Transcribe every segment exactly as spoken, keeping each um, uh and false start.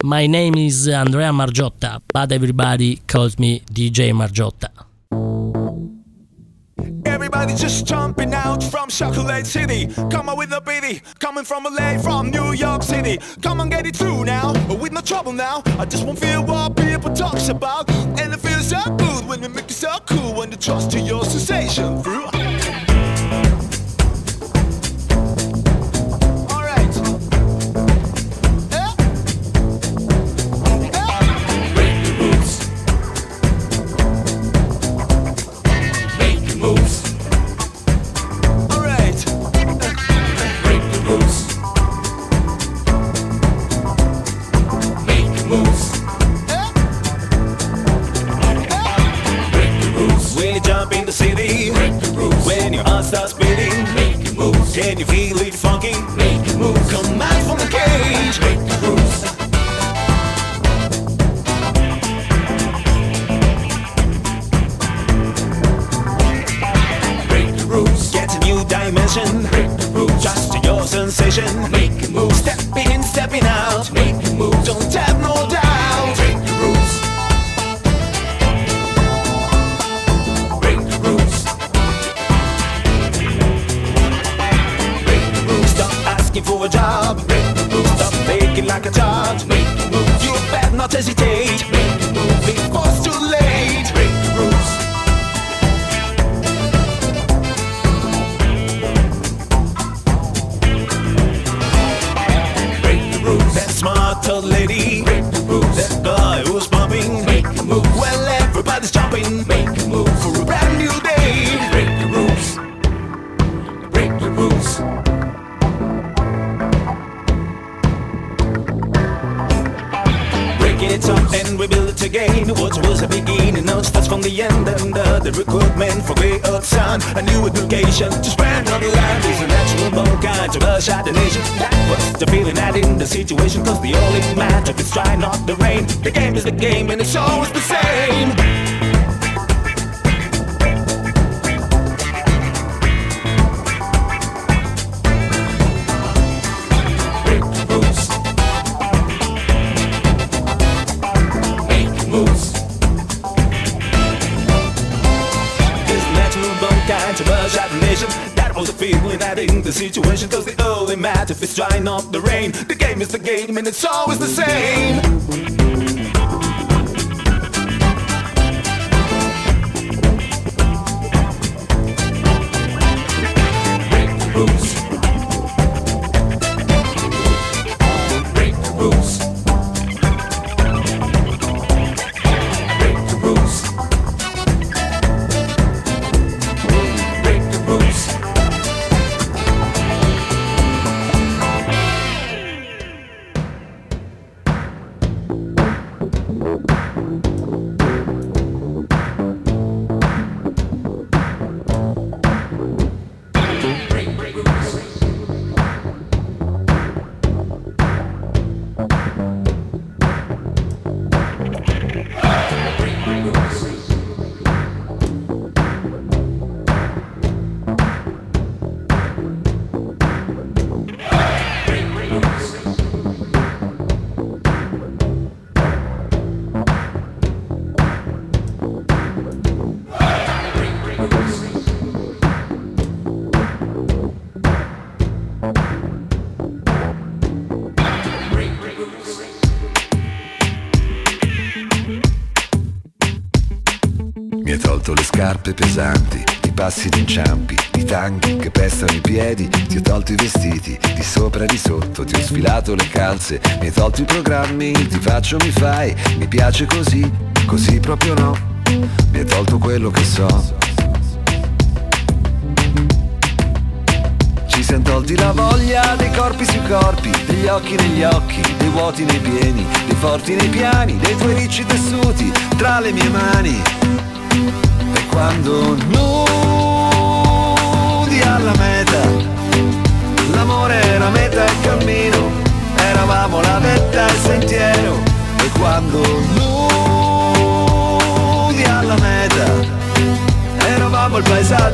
My name is Andrea Margiotta, but everybody calls me D J Margiotta. Everybody just jumping out from Chocolate City. Come on with the beat, coming from L A, from New York City. Come on, get it through now, with no trouble now. I just won't feel what people talks about. And it feels so good when we make it so cool. When you trust to your sensation through. Can you feel it funky? Make it move. Come out from the cage. Make the rules. Break the rules. Get a new dimension. Break the rules. Just your sensation. Make it move. Stepping in, stepping out. Make it move. Don't have no doubt. Break the rules. Break the rules. For a job, stop making like a charge. Make the move. You better not hesitate. Make the move. Before it's too late. Break the rules. Break the rules. That smart old lady. Break the rules. That guy who's bumping. Make the move. Well, everybody's jumping. Make the move for a brand new day. Break the rules. Break the rules. It's up and we build it again. What was the beginning now starts from the end. And uh, the recruitment for great earth sun. A new education to spread on the land is a natural born kind to rush out the nation. That was the feeling that in the situation. Cause the only matter is try not the rain. The game is the game and it's always the same. To rush out the nation. That was the feeling that in the situation. Cause the only matter if it's drying up the rain. The game is the game and it's always the same. Break the rules. Break the rules. Break the rules. Scarpe pesanti, i passi d'inciampi, i tanghi che pestano i piedi. Ti ho tolto i vestiti, di sopra e di sotto. Ti ho sfilato le calze, mi hai tolto i programmi. Ti faccio, mi fai, mi piace così, così proprio no. Mi hai tolto quello che so. Ci siamo tolti la voglia dei corpi sui corpi, degli occhi negli occhi, dei vuoti nei pieni, dei forti nei piani, dei tuoi ricci tessuti tra le mie mani. E quando nudi alla meta, l'amore era meta e cammino, eravamo la vetta e il sentiero. E quando nudi alla meta, eravamo il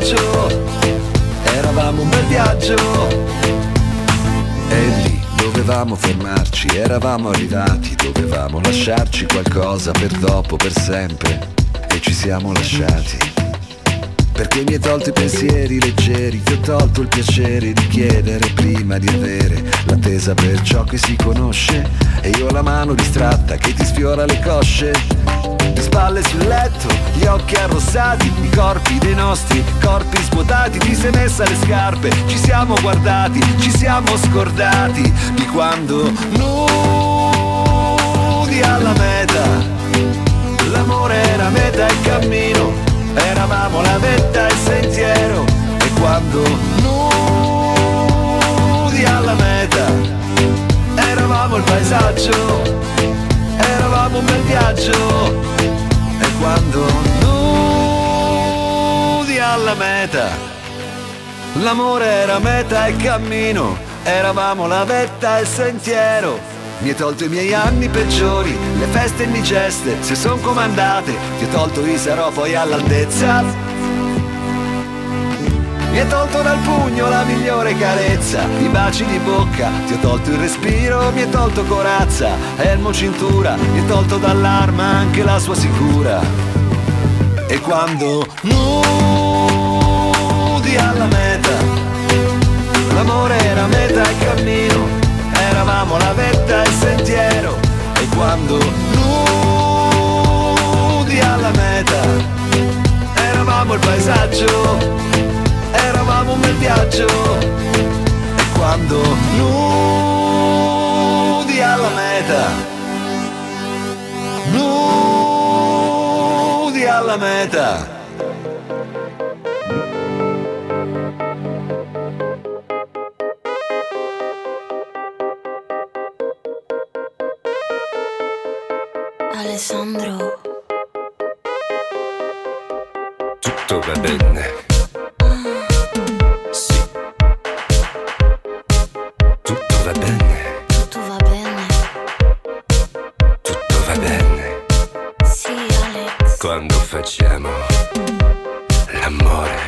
paesaggio, eravamo un bel viaggio. E lì dove potevamo fermarci, eravamo arrivati, dovevamo lasciarci qualcosa per dopo, per sempre, e ci siamo lasciati. Perché mi hai tolto i pensieri leggeri, ti ho tolto il piacere di chiedere prima di avere l'attesa per ciò che si conosce, e io ho la mano distratta che ti sfiora le cosce. Di spalle sul letto, gli occhi arrossati, i corpi dei nostri corpi svuotati. Ti sei messa le scarpe, ci siamo guardati, ci siamo scordati di quando nudi alla meta. L'amore era meta e cammino, eravamo la vetta e il sentiero. E quando nudi alla meta, eravamo il paesaggio, eravamo un bel viaggio. E quando nudi alla meta, l'amore era meta e cammino, eravamo la vetta e il sentiero. Mi hai tolto i miei anni peggiori, le feste indigeste se son comandate, ti ho tolto i sarò poi all'altezza. Mi hai tolto dal pugno la migliore carezza, i baci di bocca, ti ho tolto il respiro, mi hai tolto corazza, elmo cintura, mi hai tolto dall'arma anche la sua sicura. E quando nudi alla meta, l'amore era meta e cammino, eravamo la vetta e il sentiero. E quando nudi alla meta, eravamo il paesaggio, eravamo un bel viaggio. E quando nudi alla meta, nudi alla meta. Alessandro, tutto va bene. Sì, tutto va bene. tutto va bene. Tutto va bene. Sì, Alex. Quando facciamo l'amore.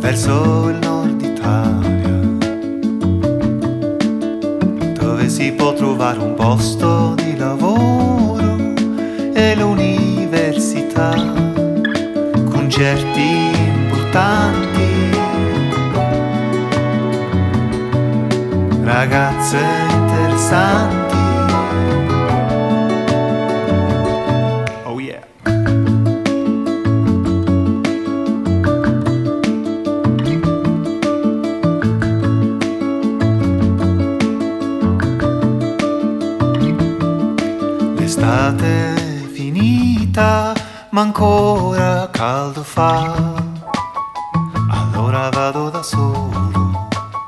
verso il nord Italia, dove si può trovare un posto di lavoro e l'università, concerti importanti, ragazze interessanti. Oh yeah. L'estate è finita, ma ancora caldo fa, allora vado da solo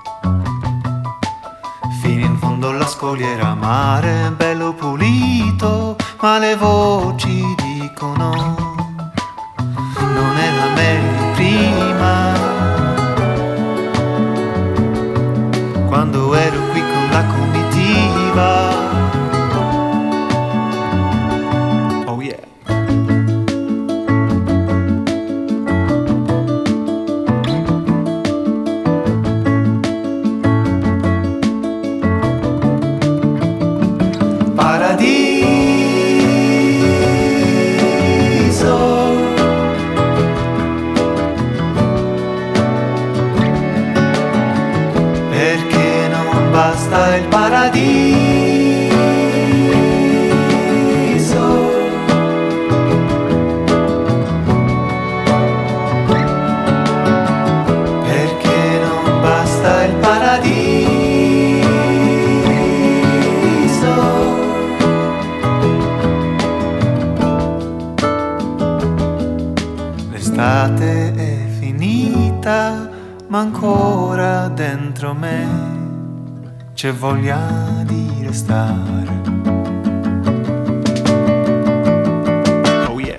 fino in fondo alla scogliera, mare bello pulito, ma le voci dicono non era meglio prima, quando ero qui con la comitiva. Oh yeah. Perché non basta il paradiso, perché non basta il paradiso, l'estate è finita, ma ancora dentro me c'è voglia di restare. Oh yeah.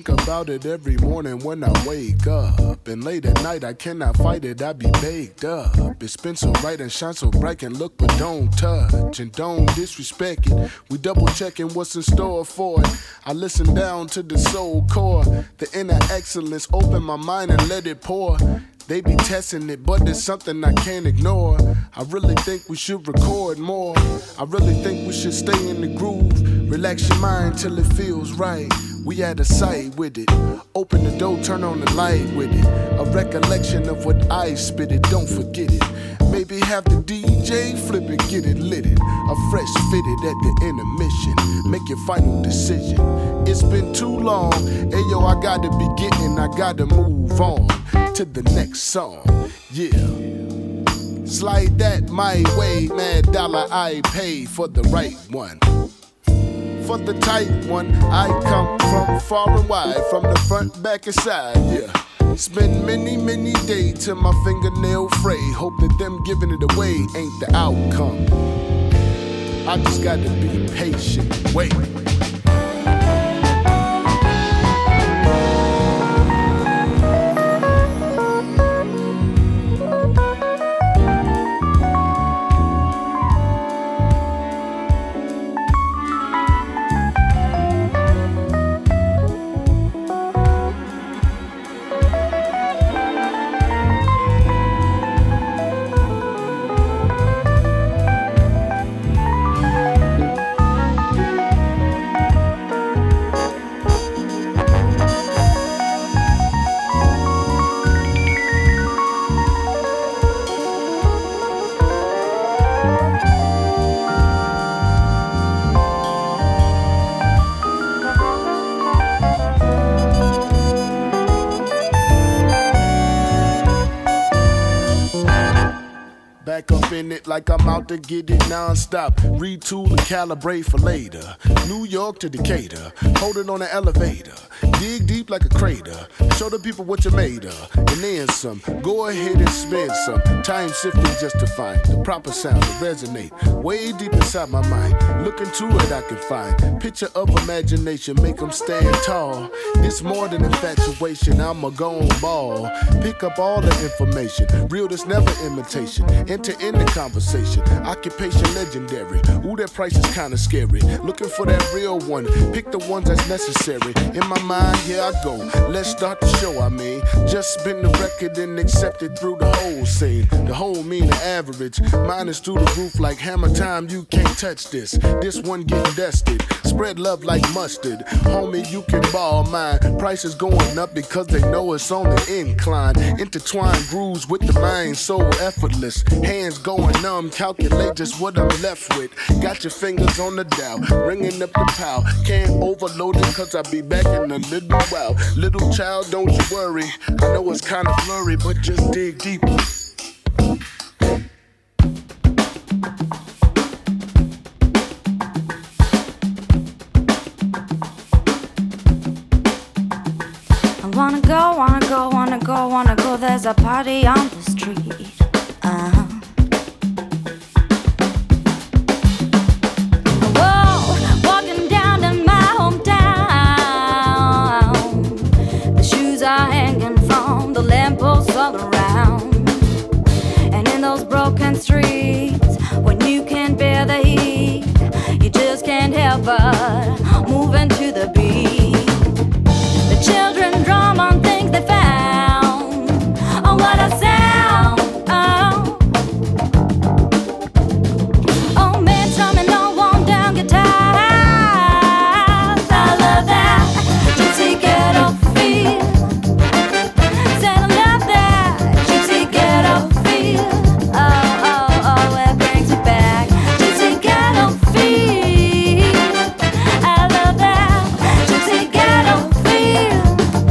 think about it every morning when I wake up. And late at night I cannot fight it, I be baked up. It's been so bright and shine so bright, and look but don't touch and don't disrespect it. We double checking what's in store for it. I listen down to the soul core, the inner excellence, open my mind and let it pour. They be testing it, but there's something I can't ignore. I really think we should record more. I really think we should stay in the groove. Relax your mind till it feels right. We out of sight with it. Open the door, turn on the light with it. A recollection of what I spit it, don't forget it. Maybe have the D J flip it, get it lit it. A fresh fitted at the intermission. Make your final decision. It's been too long. Hey yo, I gotta be getting, I gotta move on to the next song. Yeah. Slide that my way, mad dollar I pay for the right one. For the tight one, I come from far and wide, from the front, back, and side, yeah. Spend many, many days till my fingernail fray. Hope that them giving it away ain't the outcome. I just gotta be patient, wait. Like I'm out to get it non-stop. Retool and calibrate for later. New York to Decatur. Hold it on the elevator. Dig deep like a crater. Show the people what you're made of. And then some. Go ahead and spend some time sifting just to find the proper sound to resonate way deep inside my mind. Look into it, I can find picture of imagination. Make them stand tall. This more than infatuation. I'm a gone ball. Pick up all the information. Real, that's never imitation. Enter in the conversation. Occupation legendary. Ooh, that price is kinda scary. Looking for that real one. Pick the ones that's necessary. In my mind, here I go. Let's start the show, I mean. Just spin the record and accept it through the whole scene. The whole mean the average. Mine is through the roof like hammer time. You can't touch this. This one getting dusted. Spread love like mustard. Homie, you can borrow mine. Price is going up because they know it's on the incline. Intertwined grooves with the mind, so effortless. Hands going numb, calculate just what I'm left with. Got your fingers on the dial, ringing up the pow. Can't overload it cause I'll be back in a little while. Little child, don't you worry. I know it's kinda blurry, but just dig deeper. I wanna go, wanna go, wanna go, wanna go. There's a party on the street. Uh-huh. All around, and in those broken streets, when you can bear the heat, you just can't help but move into the beat. The children drum on things they found. Oh, what a sound! Oh, oh man, strumming on one down guitar. I love that gypsy ghetto feel. Feel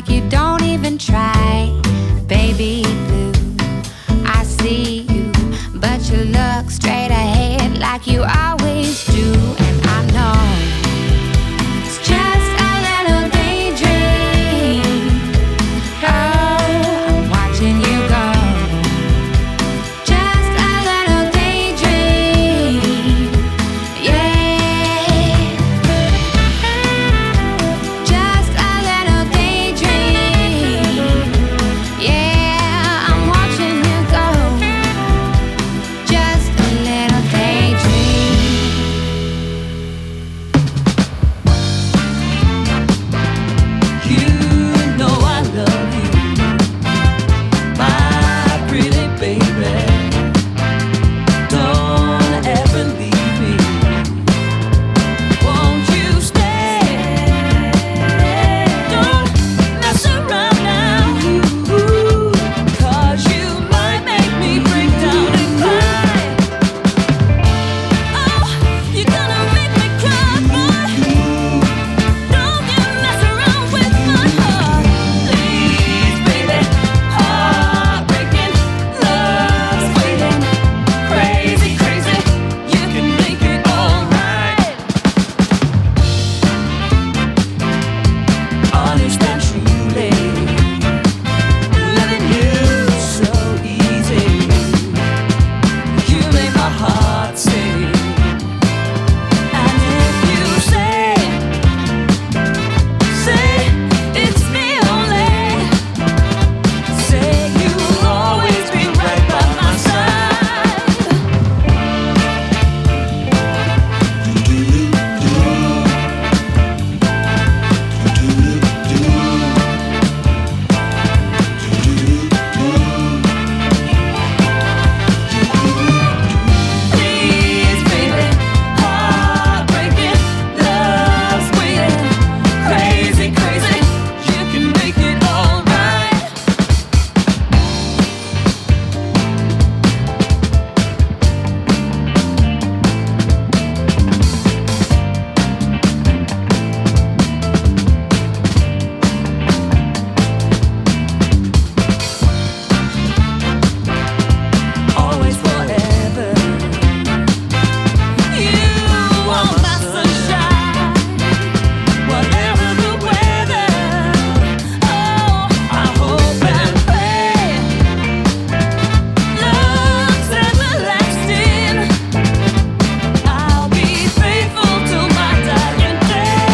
like you don't even try. Baby blue, I see you, but you look straight ahead like you always do. And I know it's just a little daydream. Oh, I'm watching you go. Just a little daydream. Yeah. Just a little daydream. Yeah, I'm watching you go. Just a little daydream. You know I love you, my pretty baby. Don't ever leave me. Won't you stay? Don't mess around now, 'cause you might make me break down and cry. Oh, you're gonna make me cry, boy. Don't you mess around with my heart, please, baby. Heartbreaking, love's waiting. Crazy, crazy, you can make it alright. Honest and truly, loving you so easy. You make my heart sing. And if you say, say it's me only, say you'll always be right by my side. Please, baby, heartbreaking, love's waiting. Crazy, crazy, you can make it alright. Always forever. You are my sunshine, whatever the weather. Oh, I hope and pray love's everlasting. I'll be faithful till my dying day.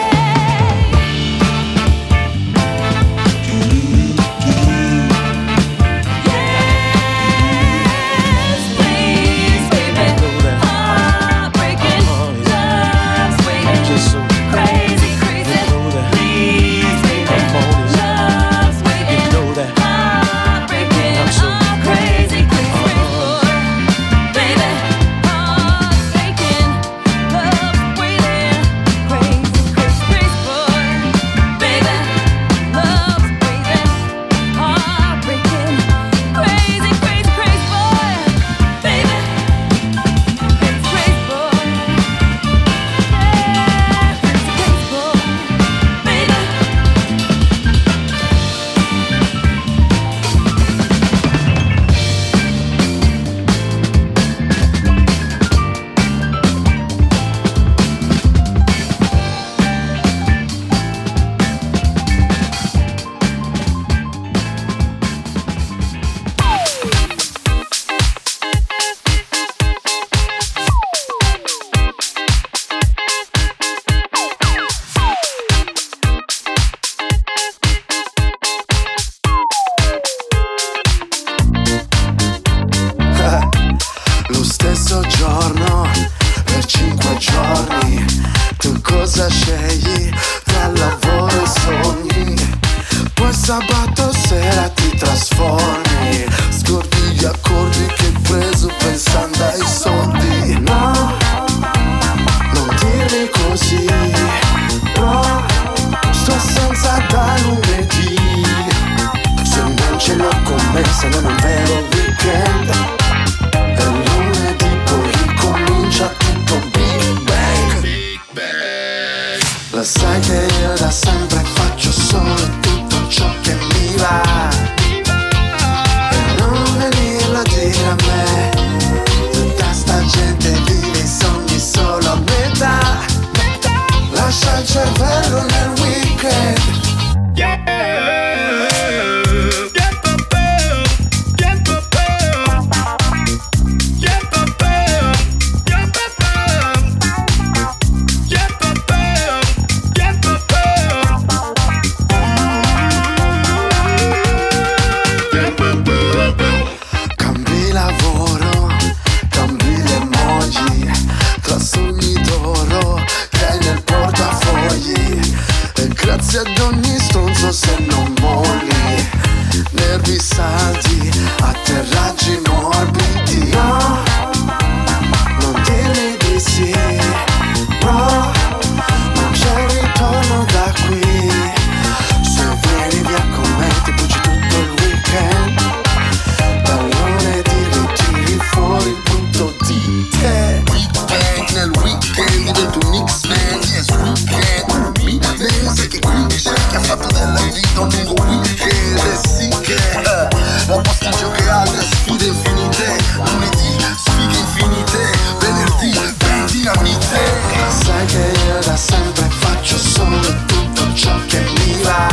Yes, please, baby. Heartbreaking, love's waiting. Crazy, crazy, please, baby. Love's waiting. Heartbreaking, oh, crazy, crazy, boy. Baby, heartbreaking, love's waiting. Crazy, crazy, crazy, boy. Baby, love's waiting. Heartbreaking, crazy, crazy, crazy, boy. Baby, crazy, crazy, boy. Yeah, crazy, crazy, boy. Baby. Lo stesso giorno, per cinque giorni, tu cosa scegli tra lavoro e sogni? Poi sabato sera ti trasformi, scordi gli accordi che hai preso pensando ai soldi. No, non dirmi così, no, sto senza da lunedì. Se non ce l'ho con me, se non è un vero weekend, e lunedì poi ricomincia tutto Big Bang. La sai che io da sempre faccio solo tutto se non molli, nervi saldi, atterraggi morbidi. No, non dirmi di sì, bro, non c'è ritorno da qui. Se vieni via con me ti buci tutto il weekend, dal lunedì ritiri fuori il punto di te. Weekend, nel weekend divento un X-Men, yes weekend. Mi pensa che qui c'è che ha fatto della vita un lungo weekend. E sì che uh, ho posto in gioco altre sfide infinite. Lunedì sfide infinite, venerdì ben dinamite. Sai che io da sempre faccio solo tutto ciò che mi va,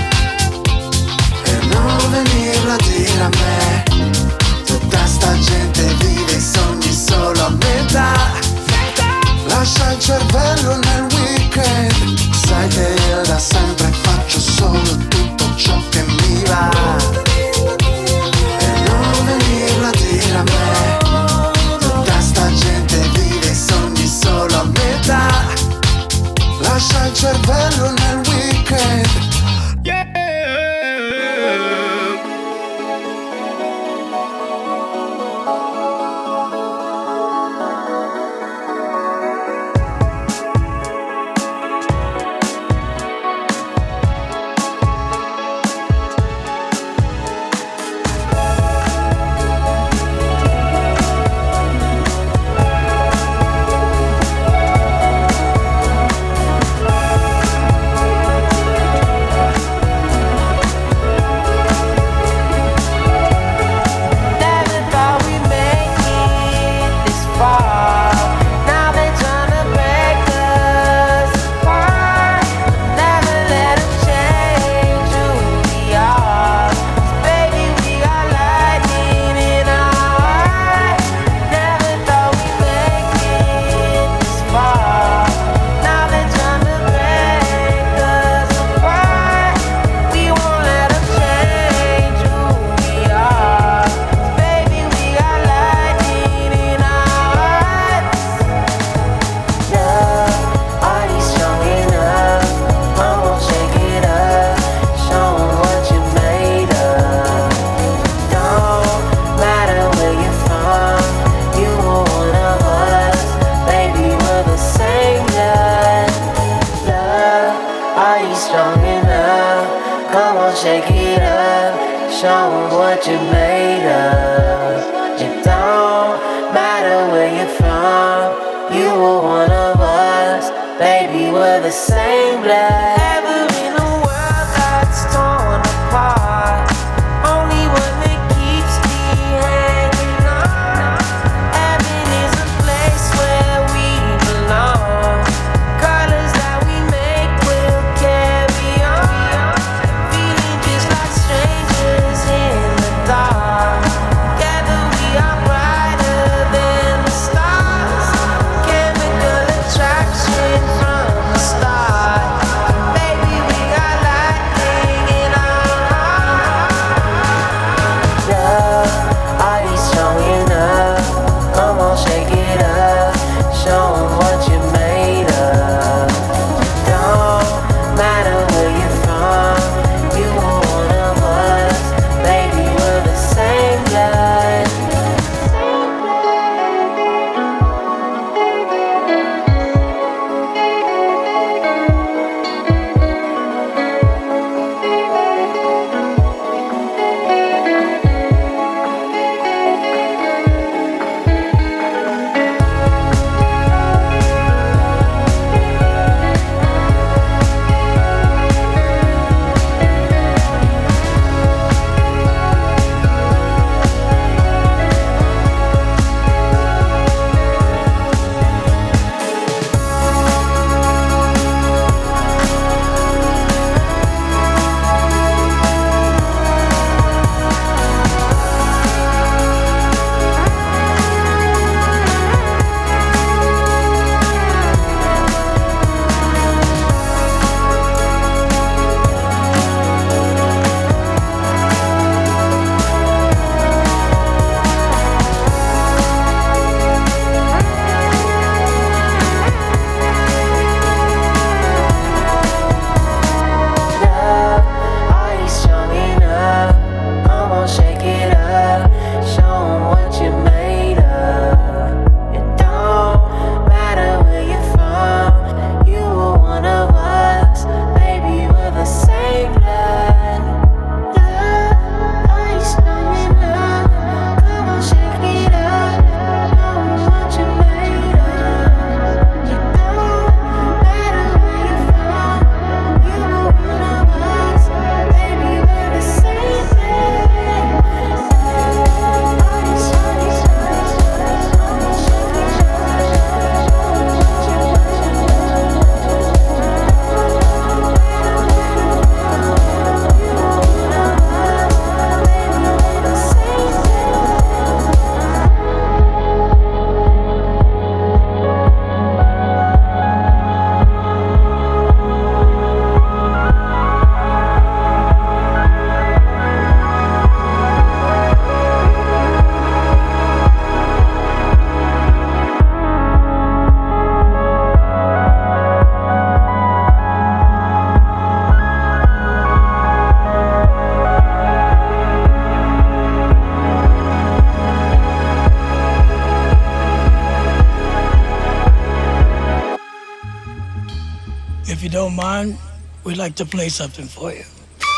e non venirlo a dire a me. Tutta sta gente vive i sogni solo a metà, lascia il cervello nel weekend. Sai che io da sempre faccio solo tutto ciò che mi va, e non venirlo a dire a me. Tutta sta gente vive i sogni solo a metà, lascia il cervello nel weekend. Yeah. Attraction from the start. if you don't mind, we'd like to play something for you.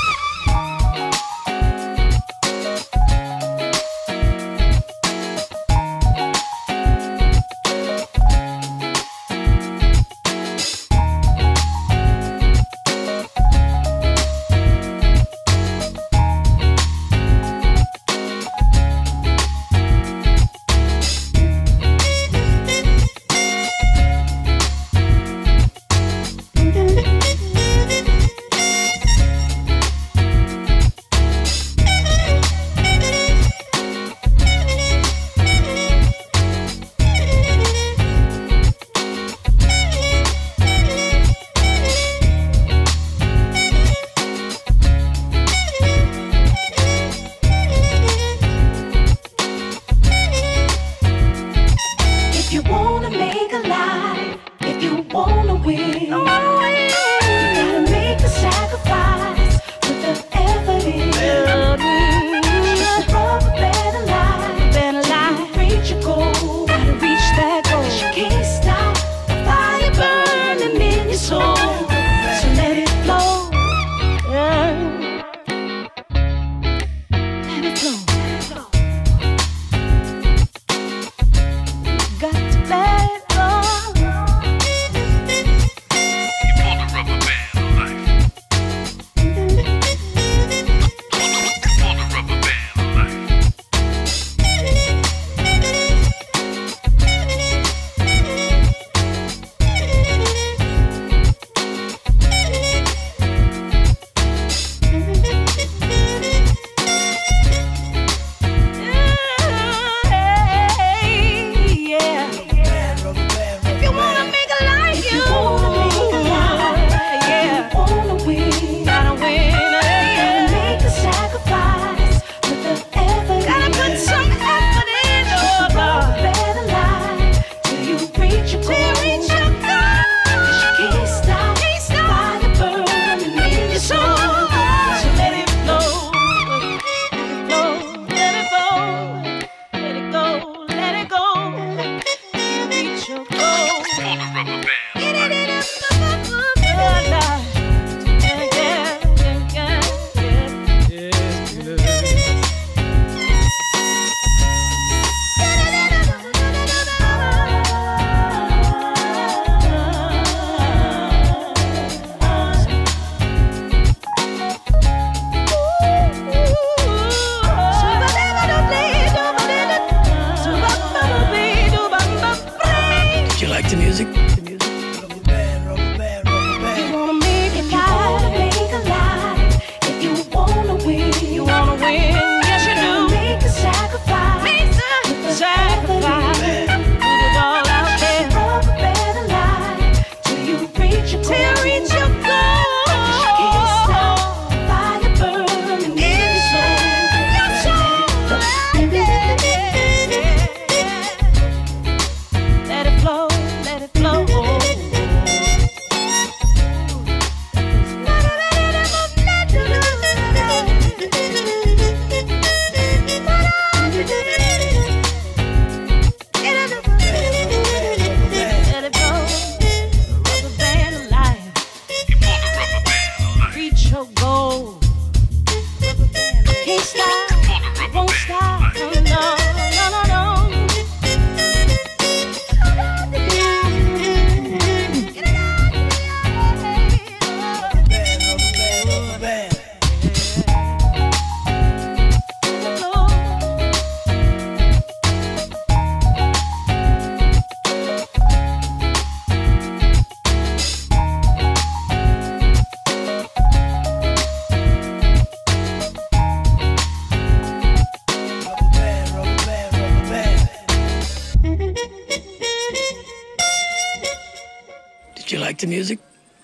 Do you like the music?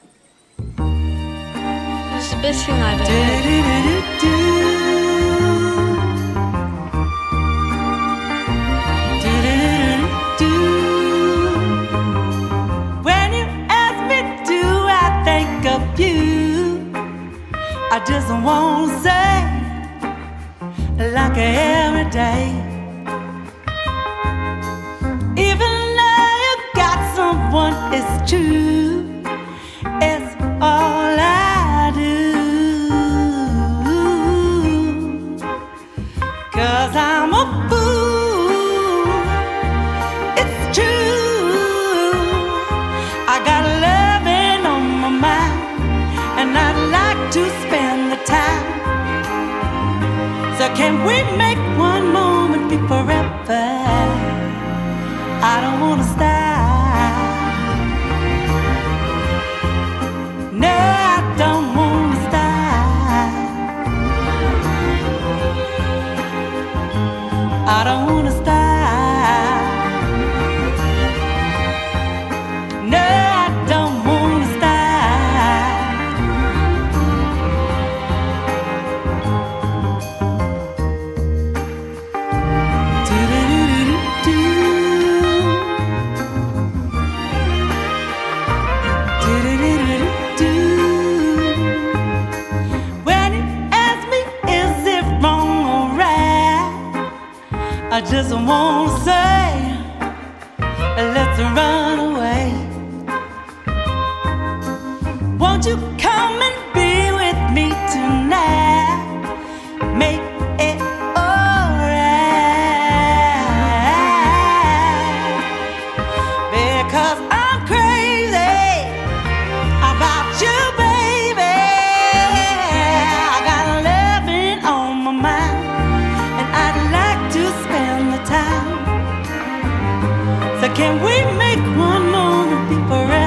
It's the best thing I've ever heard. When you ask me, do I think of you? I just won't say like every day. Even though you got someone, it's true. It's we make one moment be forever? I don't wanna stop. No, I don't wanna stop. I don't wanna stop. No, I don't wanna stop. Do-do-do-do-do. Do-do-do-do-do. When you ask me, is it wrong or right? I just wanna say, let's run away. Won't you come and be with me tonight? Make it alright. Because I'm crazy about you, baby. I got loving on my mind, and I'd like to spend the time. So can we make one moment be forever?